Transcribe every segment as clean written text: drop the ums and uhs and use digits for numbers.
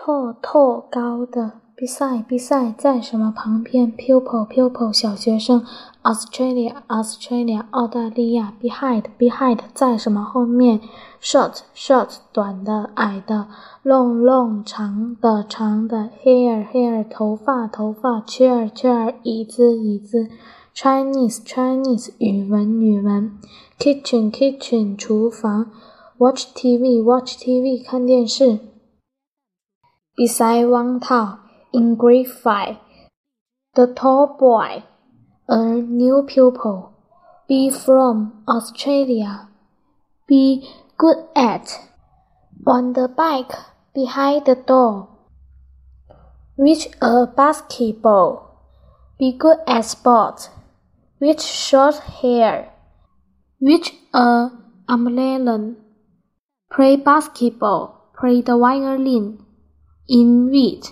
tall 高的 beside 在什么旁边 pupil 小学生 Australia 澳大利亚 behind 在什么后面 short 短的矮的 long 长的 hair 头发 chair 椅子 Chinese 语文 kitchen 厨房 watch TV 看电视Beside 王涛 in grade 5 The tall boy A new pupil Be from Australia Be good at On the bike Behind the door Reach a basketball Be good at sport With short hair Reach a umbrella Play basketball Play the violin In read.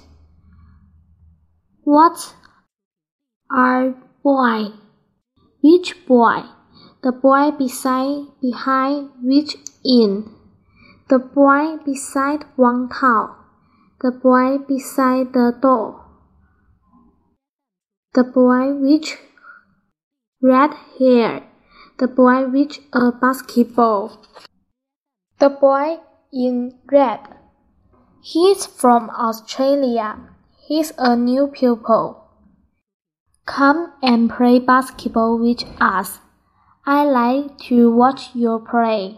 What are boy? Which boy? The boy behind which in? The boy beside Wang Tao. The boy beside the door. The boy with red hair. The boy with a basketball. The boy in red. He's from Australia. He's a new pupil. Come and play basketball with us. I like to watch you play.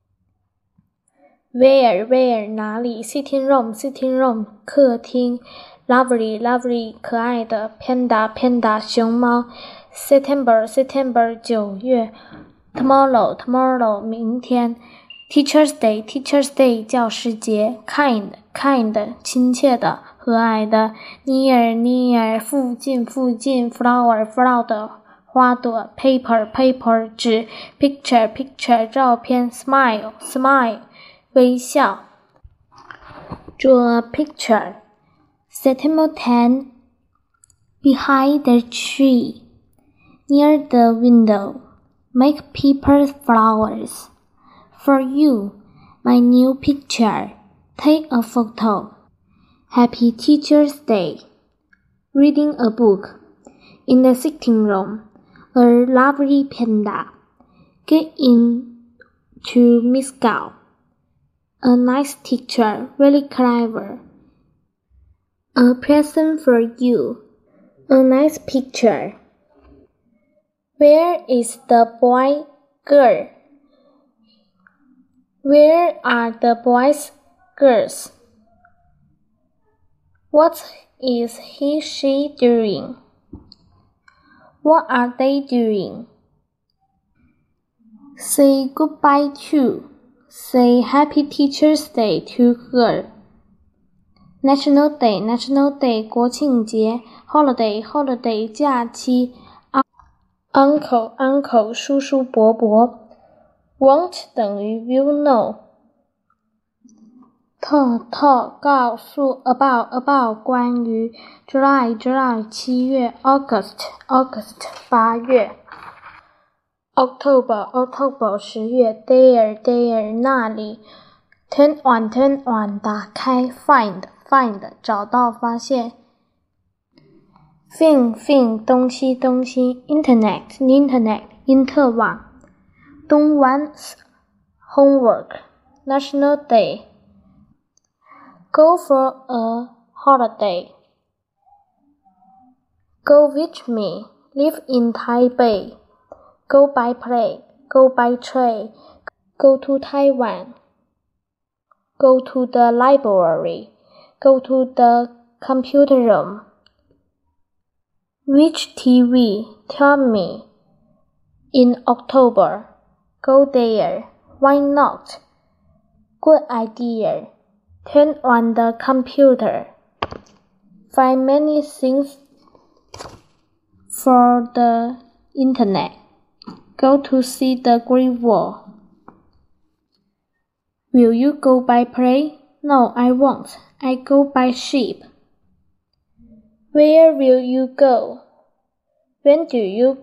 Where 哪里 Sitting room 客厅 Lovely 可爱的 Panda 熊猫 September 9月 Tomorrow 明天Teacher's Day 教师节 Kind 亲切的和蔼的 Near 附近 Flower 的花朵 Paper 纸 Picture 照片 Smile 微笑 Draw a picture September 10 Behind the tree Near the window Make paper flowers For you, my new picture. Take a photo. Happy Teacher's Day. Reading a book. In the sitting room, a lovely panda. Get in to Miss Gao. A nice teacher, really clever. A present for you. A nice picture. Where is the boy, girl? Where are the boys, girls? What is he, she doing? What are they doing? Say goodbye to. Say Happy Teacher's Day to her. National Day 国庆节 Holiday 假期 Uncle 叔叔伯伯Won't 等于 will know. Talk 告诉 about 关于 July 7月 August 8月 October 10月 There 那里 Turn on 打开 Find 找到发现 Thing 东西 Internet 因特网Don't want homework. National Day. Go for a holiday. Go with me. Live in Taipei. Go by plane. Go by train. Go to Taiwan. Go to the library. Go to the computer room. Which TV? Tell me. In October. Go there. Why not? Good idea. Turn on the computer. Find many things for the internet. Go to see the Great Wall. Will you go by plane? No, I won't. I go by ship. Where will you go? When do you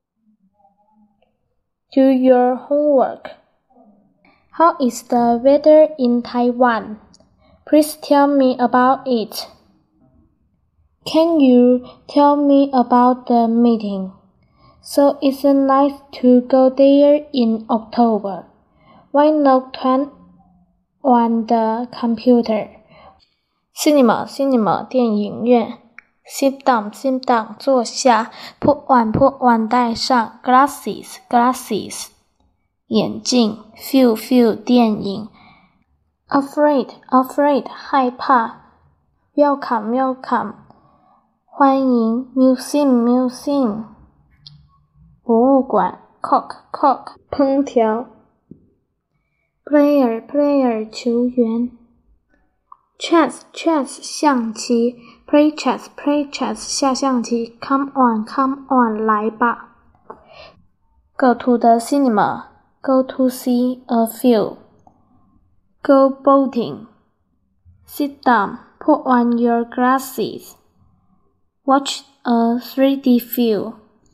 do your homework? How is the weather in Taiwan? Please tell me about it. Can you tell me about the meeting? So it's nice to go there in October. Why not turn on the computer? Cinema, 电影院。Sit down, 坐下。Put on, 戴上。Glasses, 眼镜。Film, 电影。Afraid, 害怕。Welcome, 欢迎。Museum, 博物馆。Cook, 烹调。Player, 球员。Chess, 象棋。Play chess, 下象棋。Come on, 来吧。Go to the cinema, go to see a film. Go boating. Sit down, put on your glasses. Watch a 3D film.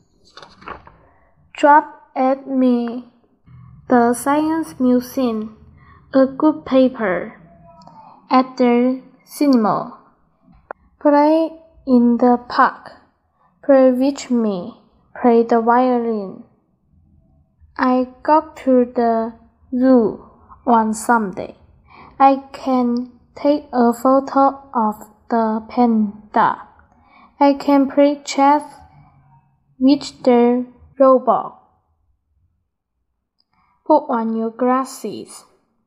Drop at me. The Science Museum. A good paper. At the cinema. Play in the park. Play with me. Play the violin. I go to the zoo on Sunday. I can take a photo of the panda. I can play chess with the robot. Put on your glasses.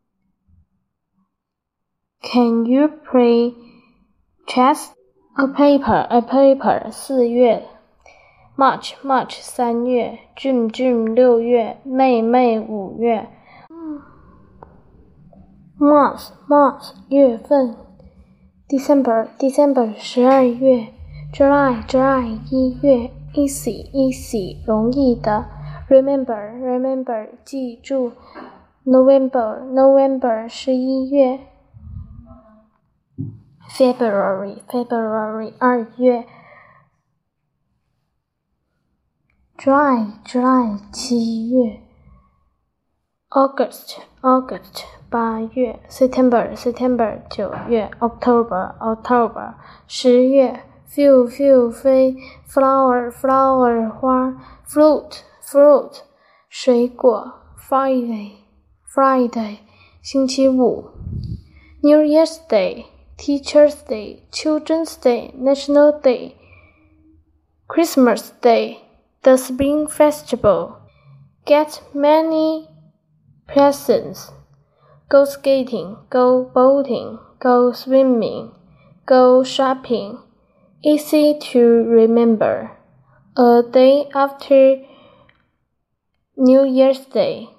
Can you play chess? A paper, 4月。March, 3月。June, 6月。May, 5月。Month, 月份。December, 12月。July, 1月。Easy, 容易的。Remember, 记住。November, 11月。February, 2月。July, 7月。August, 8月。September, 9月。October, 10月。Fill, 飞。Flower, 花。Fruit, 水果。Friday, 星期五。New Year's Day, Teacher's Day, Children's Day, National Day, Christmas Day, the Spring Festival. Get many presents. Go skating, go boating, go swimming, go shopping. Easy to remember. A day after New Year's Day.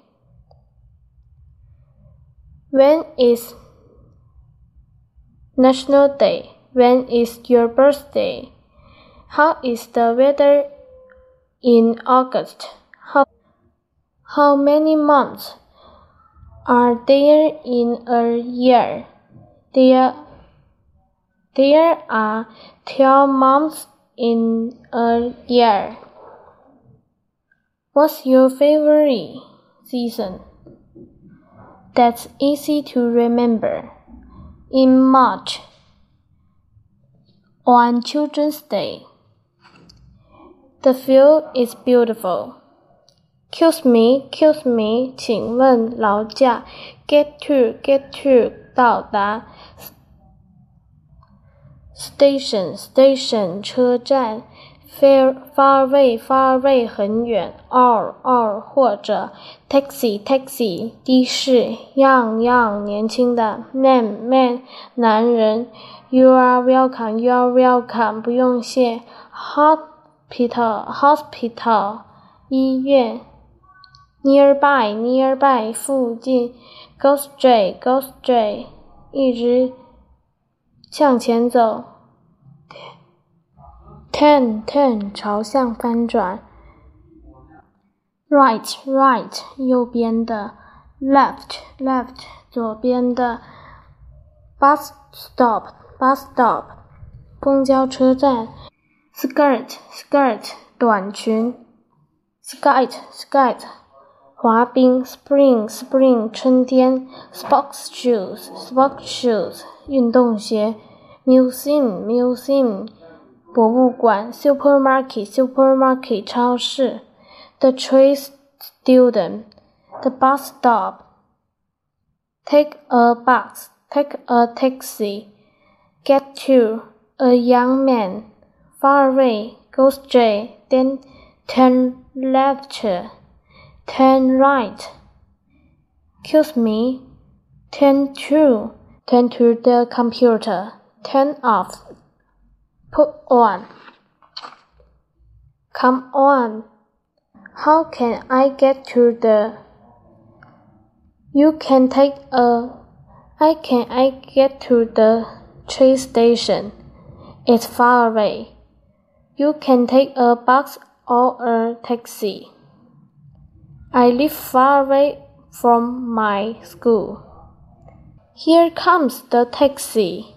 When is National Day? When is your birthday? How is the weather in August? How many months are there in a year? There are 12 months in a year. What's your favorite season? That's easy to remember. In March, on Children's Day. The field is beautiful. Excuse me, 请问劳驾。Get to, 到达。Station, 车站。Far away, 很远。Or, 或者。Taxi, 的士。Young, 年轻的。Man, 男人。You are welcome, 不用谢。Hospital, 医院。Nearby, 附近。Go straight, 一直向前走。Turn, 朝向翻转。Right, 右边的。Left, 左边的。Bus stop, 公交车站。Skirt, 短裙。Skate, 滑冰 spring 春天 sports shoes 运动鞋 museum 博物馆 supermarket 超市 the train student the bus stop take a taxi get to a young man far away go straight then turn left turn right excuse me turn to the computer turn off put on come on how can I get to the I get to the train station? It's far away. You can take a bus or a taxi. I live far away from my school. Here comes the taxi.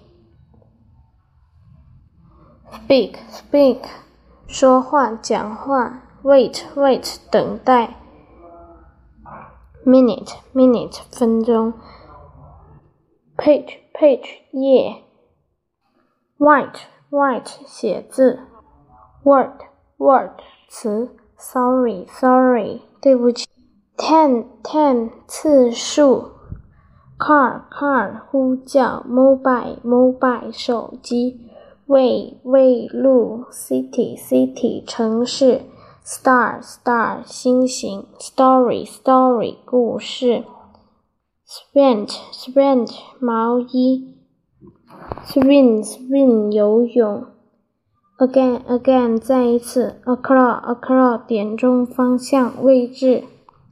Speak 说话讲话 Wait 等待Minute 分钟 Page 页 Write 写字 Word 词 Sorry 对不起 Ten 次数 Car 呼叫 Mobile 手机 Way 路 City 城市 Star 星星 Story 故事 Sprint 毛衣 Swim 游泳 Again 再一次 O'clock 点钟方向位置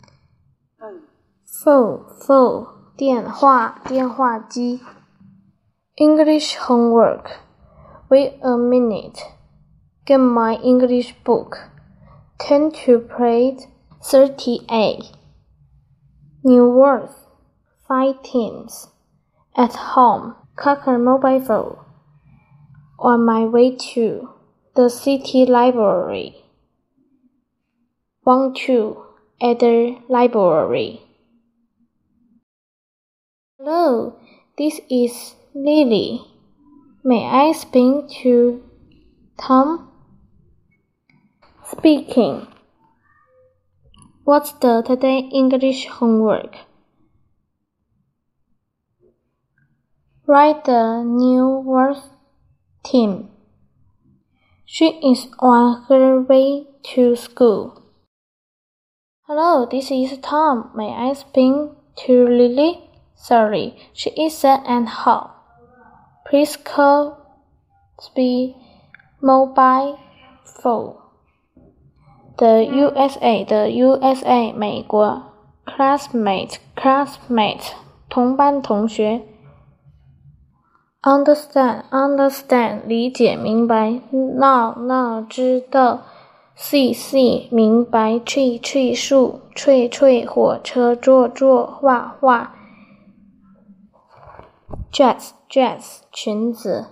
Phone 电话机 English homework Wait a minute Get my English book Turn to page 38 New words 5 teams At home Cocker mobile phone On my way to the city library Want to at the library Hello, this is Lily. May I speak to Tom? Speaking. What's the today English homework? Write the new words team. She is on her way to school. Hello, this is Tom. May I speak to Lily? Sorry, she isn't at home. Please call the mobile phone. The USA 美国 classmate 同班同学 understand 理解明白 know 知道 see 明白 tree 树 吹火车坐画dress 裙子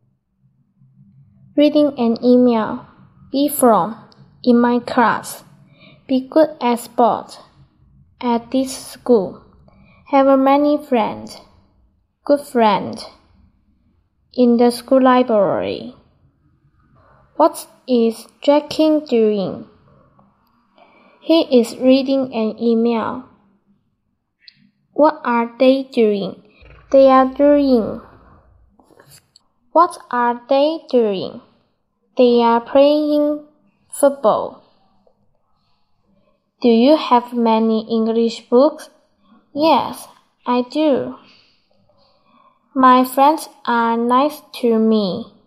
reading an email be from in my class be good at sport at this school have many friends good friend in the school library what is Jackie doing? He is reading an email. What are they doing? They are doing. What are they doing? They are playing football. Do you have many English books? Yes, I do. My friends are nice to me.